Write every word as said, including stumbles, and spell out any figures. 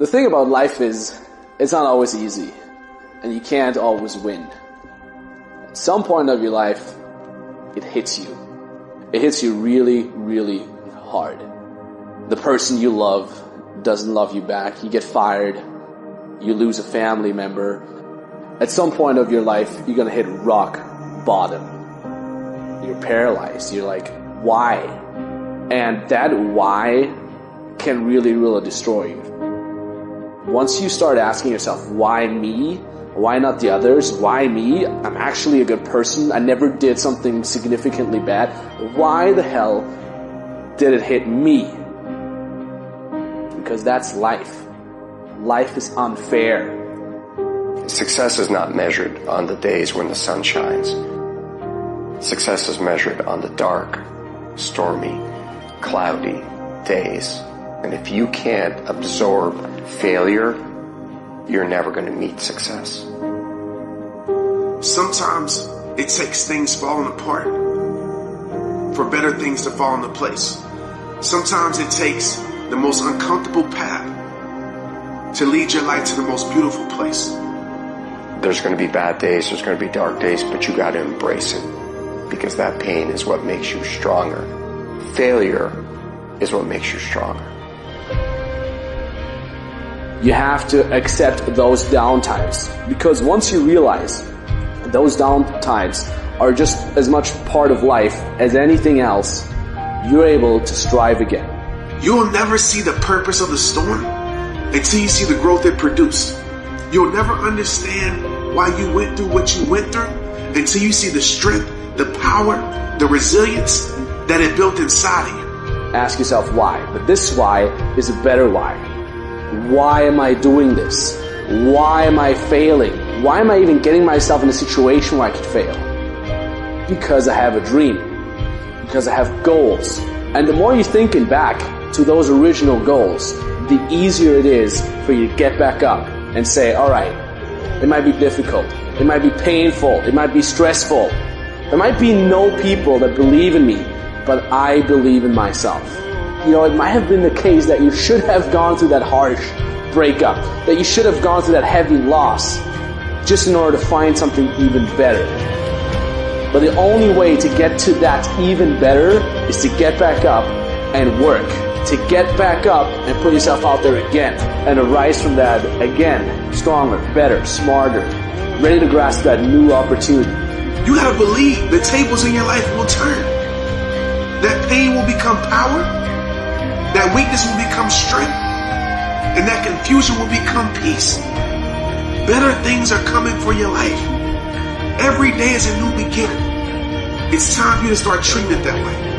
The thing about life is, it's not always easy, and you can't always win. At some point of your life, it hits you. It hits you really, really hard. The person you love doesn't love you back. You get fired. You lose a family member. At some point of your life, you're gonna hit rock bottom. You're paralyzed. You're like, why? And that why can really, really destroy you. Once you start asking yourself, why me? Why not the others? Why me? I'm actually a good person. I never did something significantly bad. Why the hell did it hit me? Because that's life. Life is unfair. Success is not measured on the days when the sun shines. Success is measured on the dark, stormy, cloudy days. And if you can't absorb failure, you're never going to meet success. Sometimes it takes things falling apart for better things to fall into place. Sometimes it takes the most uncomfortable path to lead your life to the most beautiful place. There's going to be bad days, there's going to be dark days, but you got to embrace it, because that pain is what makes you stronger. Failure is what makes you stronger. You have to accept those down times, because once you realize those down times are just as much part of life as anything else, you're able to strive again. You'll never see the purpose of the storm until you see the growth it produced. You'll never understand why you went through what you went through until you see the strength, the power, the resilience that it built inside of you. Ask yourself why, but this why is a better why. Why am I doing this? Why am I failing? Why am I even getting myself in a situation where I could fail? Because I have a dream. Because I have goals. And the more you're thinking back to those original goals, the easier it is for you to get back up and say, alright, it might be difficult. It might be painful. It might be stressful. There might be no people that believe in me, but I believe in myself. You know, it might have been the case that you should have gone through that harsh breakup, that you should have gone through that heavy loss, just in order to find something even better. But the only way to get to that even better is to get back up and work, to get back up and put yourself out there again, and arise from that again, stronger, better, smarter, ready to grasp that new opportunity. You gotta believe the tables in your life will turn. That pain will become power. That weakness will become strength, and that confusion will become peace. Better things are coming for your life. Every day is a new beginning. It's time for you to start treating it that way.